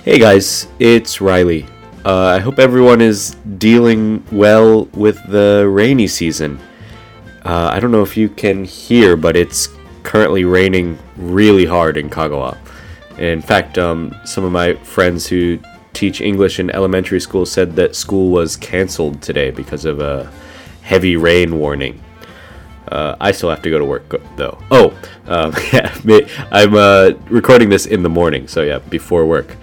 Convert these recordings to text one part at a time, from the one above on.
Hey guys, it's Riley. I hope everyone is dealing well with the rainy season. I don't know if you can hear, but it's currently raining really hard in Kagawa. In fact, some of my friends who teach English in elementary school said that school was canceled today because of a heavy rain warning. I still have to go to work, though. Yeah, I'm recording this in the morning, so yeah, before work.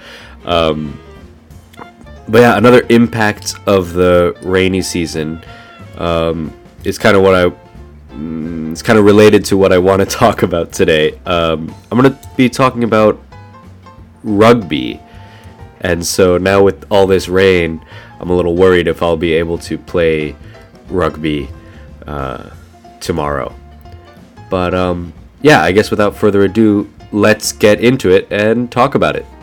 But yeah, another impact of the rainy season is kind of it's kind of related to what I want to talk about today. I'm going to be talking about rugby. And so now with all this rain, I'm a little worried if I'll be able to play rugby tomorrow. But yeah, I guess without further ado, let's get into it and talk about it.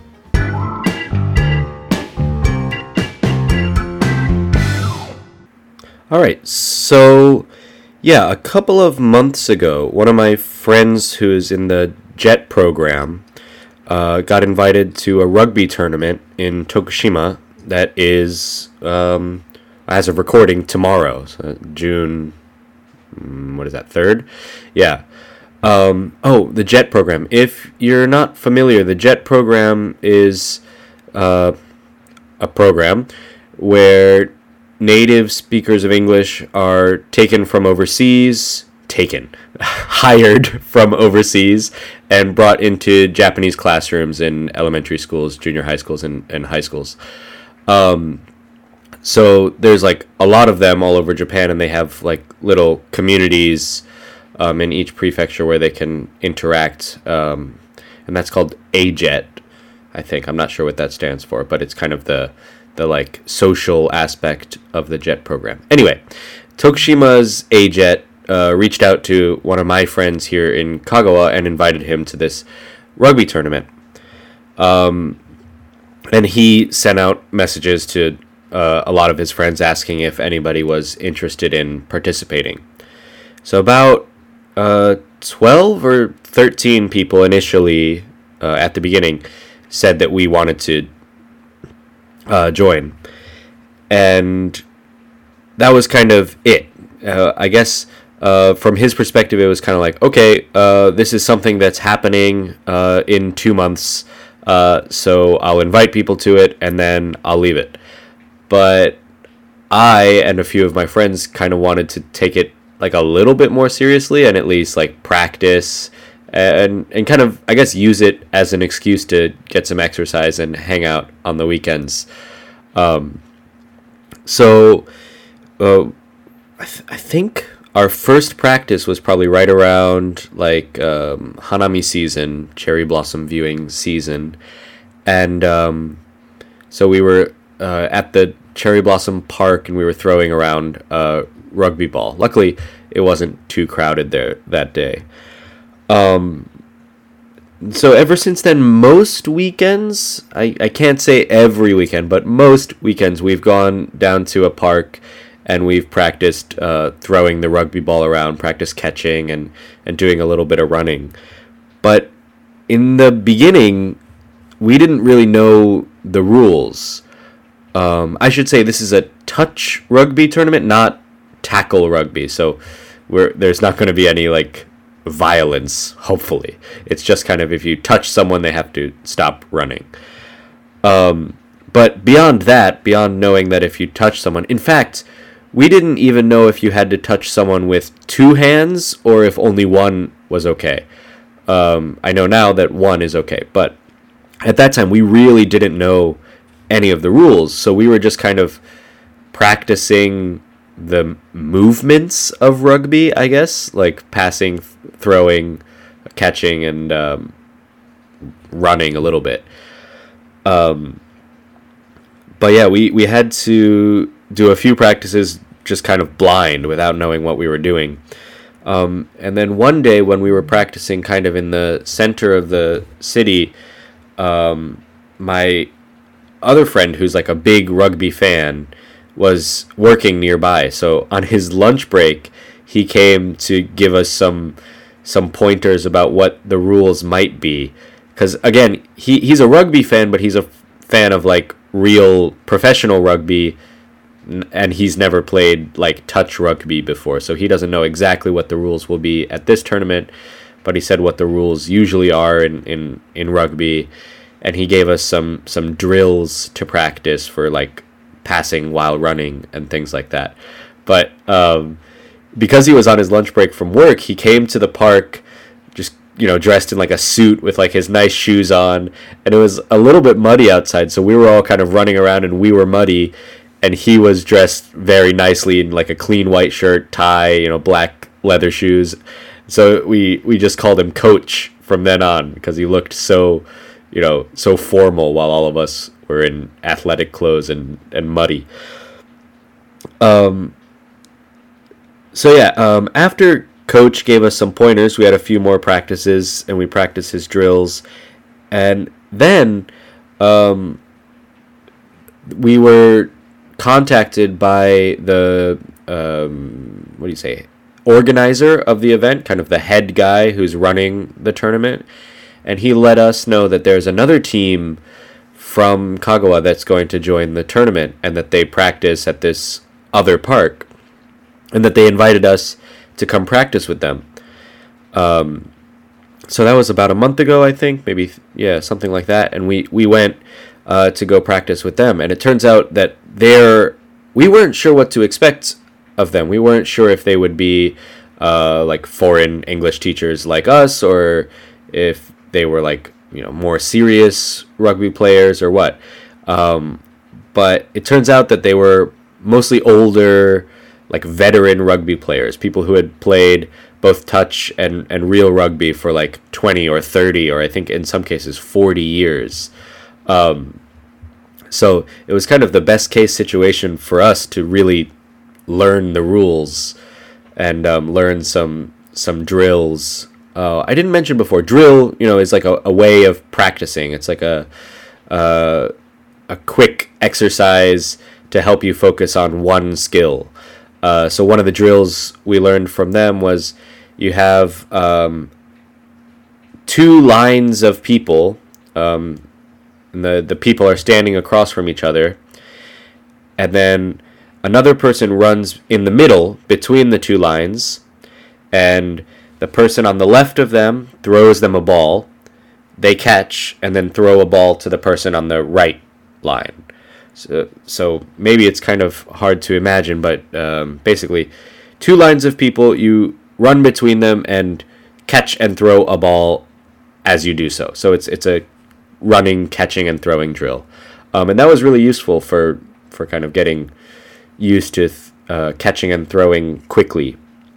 Alright, so yeah, a couple of months ago, one of my friends who is in the JET program got invited to a rugby tournament in Tokushima that is, as of recording, tomorrow, so June, 3rd? Yeah. The JET program. If you're not familiar, the JET program is a program where native speakers of English are taken from overseas, hired from overseas, and brought into Japanese classrooms in elementary schools, junior high schools, and high schools. So there's like a lot of them all over Japan, and they have like little communities in each prefecture where they can interact, and that's called AJET, I think. I'm not sure what that stands for, but it's kind of the like social aspect of the JET program. Anyway, Tokushima's AJET reached out to one of my friends here in Kagawa and invited him to this rugby tournament. And he sent out messages to a lot of his friends asking if anybody was interested in participating. So about 12 or 13 people initially at the beginning said that we wanted to join, and that was kind of it. I guess from his perspective, it was kind of like, okay, this is something that's happening in 2 months, so I'll invite people to it, and then I'll leave it. But I and a few of my friends kind of wanted to take it like a little bit more seriously, and at least like practice and kind of, I guess, use it as an excuse to get some exercise and hang out on the weekends. So I think our first practice was probably right around like Hanami season, cherry blossom viewing season. And so we were at the cherry blossom park, and we were throwing around rugby ball. Luckily, it wasn't too crowded there that day. So ever since then, most weekends, I can't say every weekend, but most weekends we've gone down to a park and we've practiced throwing the rugby ball around, practiced catching and doing a little bit of running. But in the beginning, we didn't really know the rules. I should say this is a touch rugby tournament, not tackle rugby. So there's not going to be any like violence, hopefully. It's just kind of, if you touch someone, they have to stop running. But beyond that, beyond knowing that if you touch someone, in fact, we didn't even know if you had to touch someone with two hands or if only one was okay. I know now that one is okay, but at that time we really didn't know any of the rules, so we were just kind of practicing the movements of rugby, I guess, like passing, throwing, catching, and running a little bit. But yeah, we had to do a few practices just kind of blind without knowing what we were doing. And then one day when we were practicing kind of in the center of the city, my other friend, who's like a big rugby fan, was working nearby. So on his lunch break, he came to give us some pointers about what the rules might be, because again, he's a rugby fan, but he's a fan of like real professional rugby, and he's never played like touch rugby before, so he doesn't know exactly what the rules will be at this tournament. But he said what the rules usually are in rugby, and he gave us some drills to practice for like passing while running and things like that. But because he was on his lunch break from work, he came to the park just, dressed in like a suit with like his nice shoes on, and it was a little bit muddy outside, so we were all kind of running around and we were muddy, and he was dressed very nicely in like a clean white shirt, tie, black leather shoes. So we just called him Coach from then on, because he looked so formal, while all of us were in athletic clothes and muddy. After Coach gave us some pointers, we had a few more practices, and we practiced his drills. And then we were contacted by the, organizer of the event, kind of the head guy who's running the tournament. And he let us know that there's another team from Kagawa that's going to join the tournament, and that they practice at this other park, and that they invited us to come practice with them. So that was about a month ago, I think, maybe, something like that. And we went to go practice with them, and it turns out that we weren't sure what to expect of them. We weren't sure if they would be like foreign English teachers like us, or if they were like more serious rugby players or what. But it turns out that they were mostly older, like veteran rugby players, people who had played both touch and real rugby for like 20 or 30, or I think in some cases 40 years. So it was kind of the best case situation for us to really learn the rules and learn some drills. I didn't mention before, drill, is like a way of practicing. It's like a quick exercise to help you focus on one skill. So one of the drills we learned from them was you have two lines of people, and the people are standing across from each other, and then another person runs in the middle between the two lines, and the person on the left of them throws them a ball, they catch, and then throw a ball to the person on the right line. So maybe it's kind of hard to imagine, but basically, two lines of people, you run between them and catch and throw a ball as you do so. So it's a running, catching, and throwing drill. And that was really useful for kind of getting used to catching and throwing quickly.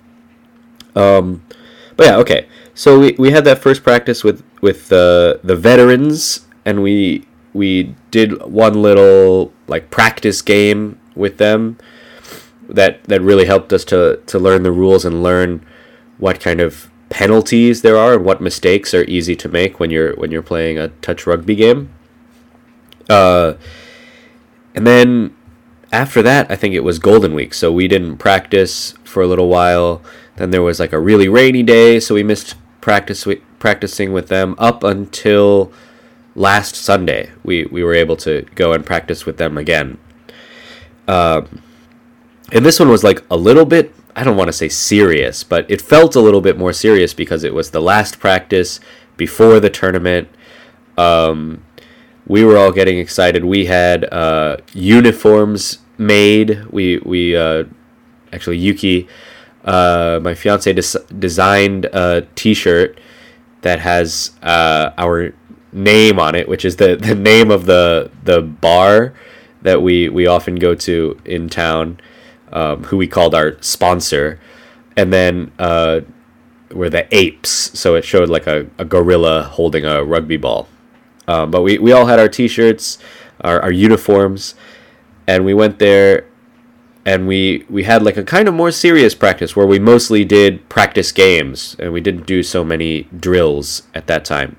But yeah, okay. So we had that first practice with the veterans, and we did one little like practice game with them that really helped us to learn the rules and learn what kind of penalties there are and what mistakes are easy to make when you're playing a touch rugby game. And then after that, I think it was Golden Week, so we didn't practice for a little while. Then there was like a really rainy day, so we missed practicing with them up until last Sunday. We were able to go and practice with them again. And this one was like a little bit, I don't want to say serious, but it felt a little bit more serious because it was the last practice before the tournament. We were all getting excited. We had uniforms made. We actually, Yuki, my fiance, designed a T-shirt that has our name on it, which is the name of the bar that we often go to in town, who we called our sponsor. And then we're the apes, so it showed like a gorilla holding a rugby ball. But we all had our T-shirts, our uniforms, and we went there, and we had like a kind of more serious practice where we mostly did practice games, and we didn't do so many drills at that time.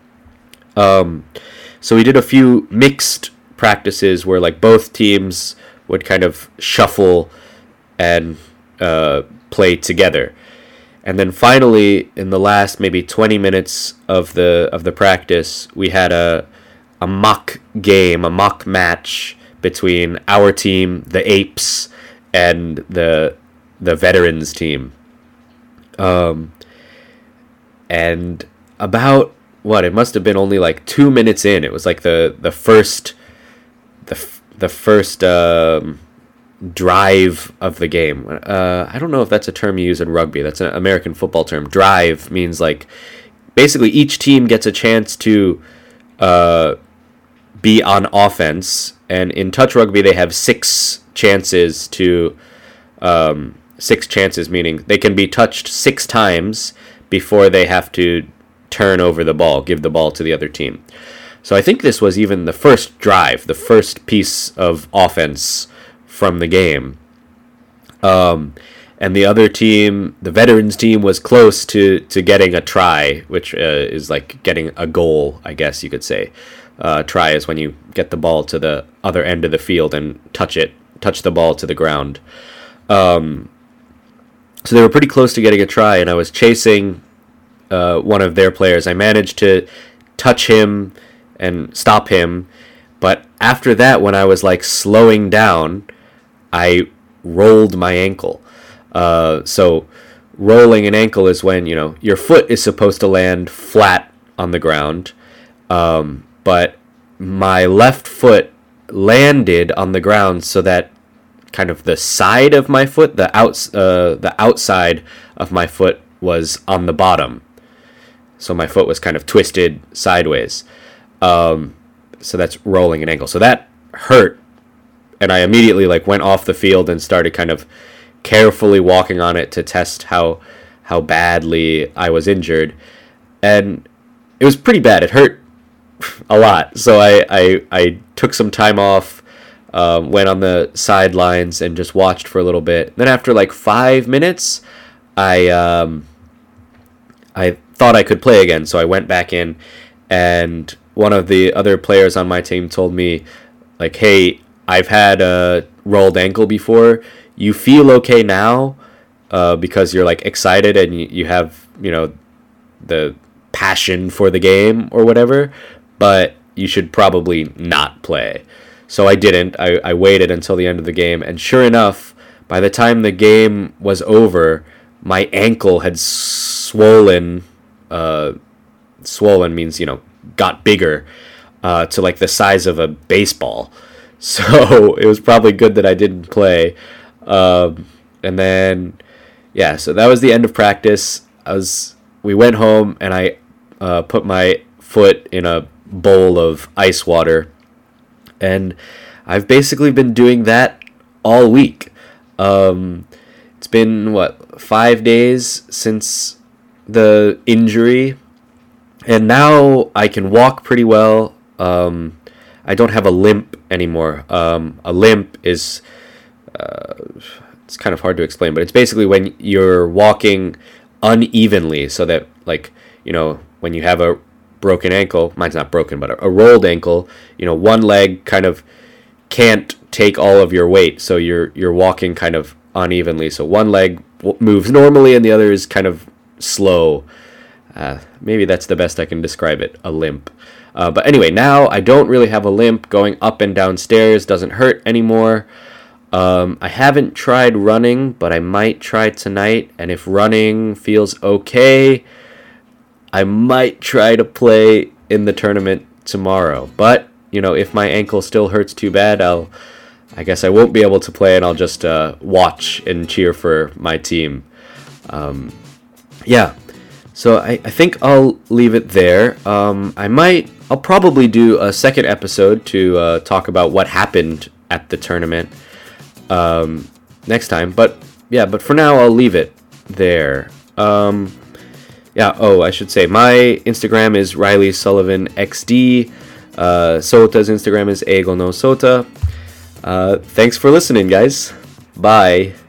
So we did a few mixed practices where like both teams would kind of shuffle and play together. And then finally, in the last maybe 20 minutes of the practice, we had a mock game, a mock match between our team, the Apes, and the veterans team. And about what, it must have been only like 2 minutes in. It was like the first drive of the game. I don't know if that's a term you use in rugby. That's an American football term. Drive means like basically each team gets a chance to be on offense, and in touch rugby they have 6 chances to 6 chances, meaning they can be touched 6 times before they have to turn over the ball, give the ball to the other team. So I think this was even the first drive, the first piece of offense from the game. And the other team, the veterans team, was close to getting a try, which is like getting a goal, I guess you could say. Try is when you get the ball to the other end of the field and touch the ball to the ground. So they were pretty close to getting a try, and I was chasing one of their players. I managed to touch him and stop him, but after that, when I was like slowing down, I rolled my ankle. So rolling an ankle is when, your foot is supposed to land flat on the ground, but my left foot landed on the ground so that kind of the side of my foot, the outside of my foot was on the bottom. So my foot was kind of twisted sideways. So that's rolling an ankle. So that hurt, and I immediately went off the field and started kind of carefully walking on it to test how badly I was injured. And it was pretty bad. It hurt a lot. So I took some time off, went on the sidelines and just watched for a little bit. Then after 5 minutes, I thought I could play again, so I went back in, and one of the other players on my team told me, hey, I've had a rolled ankle before. You feel okay now because you're excited and you have, the passion for the game or whatever, but you should probably not play. So I didn't. I waited until the end of the game, and sure enough, by the time the game was over, my ankle had swollen. Swollen means, got bigger to the size of a baseball. So it was probably good that I didn't play. And then, so that was the end of practice. We went home, and I put my foot in a bowl of ice water, and I've basically been doing that all week. It's been 5 days since the injury, and now I can walk pretty well. I don't have a limp anymore. A limp is it's kind of hard to explain, but it's basically when you're walking unevenly, so that when you have a broken ankle, mine's not broken, but a rolled ankle, one leg kind of can't take all of your weight, so you're walking kind of unevenly. So one leg moves normally and the other is kind of slow. Maybe that's the best I can describe it, a limp. But anyway, now I don't really have a limp. Going up and down stairs doesn't hurt anymore. I haven't tried running, but I might try tonight, and if running feels okay, I might try to play in the tournament tomorrow. But, if my ankle still hurts too bad, I guess I won't be able to play, and I'll just watch and cheer for my team. So I think I'll leave it there. I'll probably do a second episode to talk about what happened at the tournament next time. But for now I'll leave it there. I should say my Instagram is Riley Sullivan XD. Sota's Instagram is Ego no Sota. Thanks for listening, guys. Bye.